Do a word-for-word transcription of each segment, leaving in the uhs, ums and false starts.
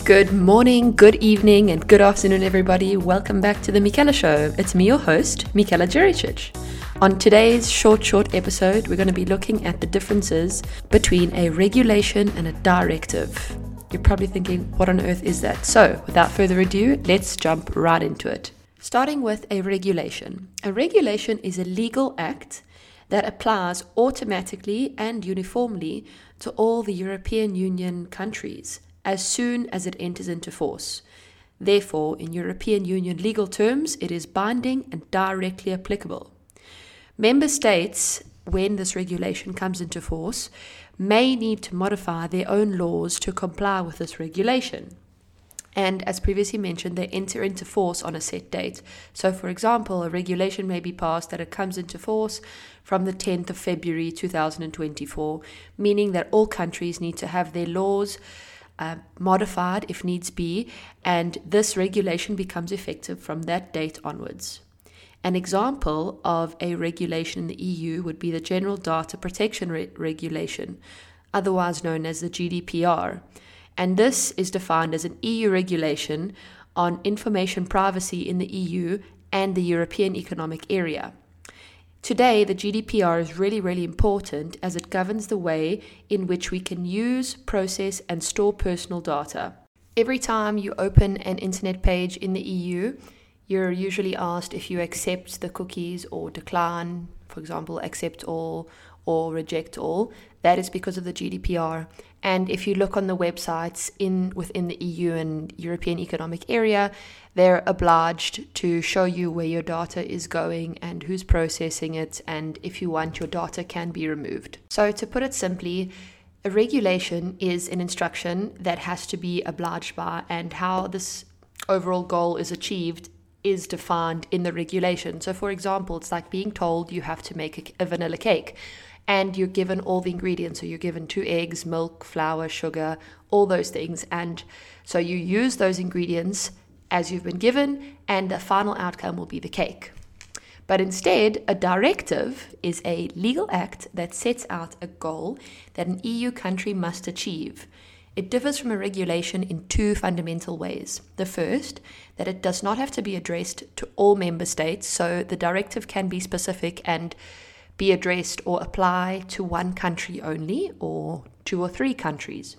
Good morning, good evening, and good afternoon, everybody. Welcome back to the Michela Show. It's me, your host, Michela Juricic. On today's short, short episode, we're going to be looking at the differences between a regulation and a directive. You're probably thinking, what on earth is that? So, without further ado, let's jump right into it. Starting with a regulation. A regulation is a legal act that applies automatically and uniformly to all the European Union countries as soon as it enters into force. Therefore, in European Union legal terms, it is binding and directly applicable. Member states, when this regulation comes into force, may need to modify their own laws to comply with this regulation. And as previously mentioned, they enter into force on a set date. So, for example, a regulation may be passed that it comes into force from the tenth of February two thousand twenty-four, meaning that all countries need to have their laws Uh, modified if needs be, and this regulation becomes effective from that date onwards. An example of a regulation in the E U would be the General Data Protection Re- Regulation, otherwise known as the G D P R, and this is defined as an E U regulation on information privacy in the E U and the European Economic Area. Today, the G D P R is really, really important as it governs the way in which we can use, process, and store personal data. Every time you open an internet page in the E U, you're usually asked if you accept the cookies or decline, for example, accept all or reject all. That is because of the G D P R. And if you look on the websites in within the E U and European Economic Area, they're obliged to show you where your data is going and who's processing it, and if you want, your data can be removed. So to put it simply, a regulation is an instruction that has to be obliged by, and how this overall goal is achieved is defined in the regulation. So for example, it's like being told you have to make a, a vanilla cake, and you're given all the ingredients. So you're given two eggs, milk, flour, sugar, all those things. And so you use those ingredients as you've been given, and the final outcome will be the cake. But instead, a directive is a legal act that sets out a goal that an E U country must achieve. It differs from a regulation in two fundamental ways. The first, that it does not have to be addressed to all member states, so the directive can be specific and be addressed or apply to one country only, or two or three countries.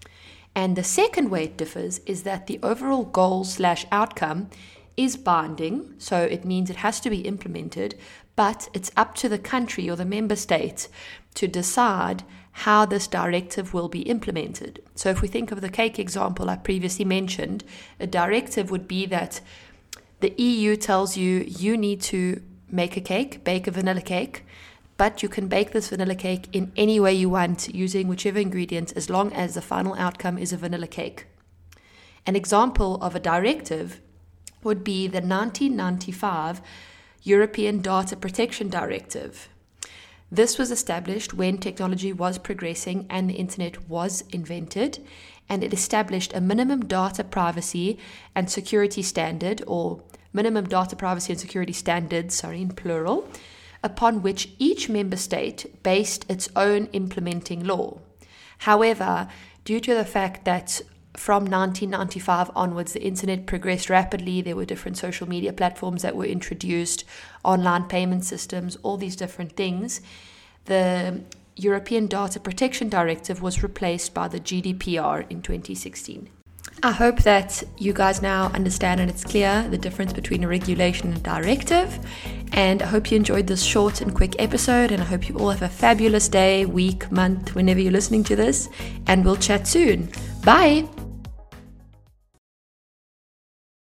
And the second way it differs is that the overall goal slash outcome is binding, so it means it has to be implemented, but it's up to the country or the member state to decide how this directive will be implemented. So if we think of the cake example I previously mentioned, a directive would be that the E U tells you you need to make a cake, bake a vanilla cake, but you can bake this vanilla cake in any way you want using whichever ingredients, as long as the final outcome is a vanilla cake. An example of a directive would be the nineteen ninety-five European Data Protection Directive. This was established when technology was progressing and the internet was invented, and it established a minimum data privacy and security standard, or minimum data privacy and security standards, sorry, in plural, upon which each member state based its own implementing law. However, due to the fact that from nineteen ninety-five onwards, the internet progressed rapidly, there were different social media platforms that were introduced, online payment systems, all these different things, the European Data Protection Directive was replaced by the G D P R in twenty sixteen. I hope that you guys now understand and it's clear the difference between a regulation and a directive. And I hope you enjoyed this short and quick episode, and I hope you all have a fabulous day, week, month, whenever you're listening to this, and we'll chat soon. Bye!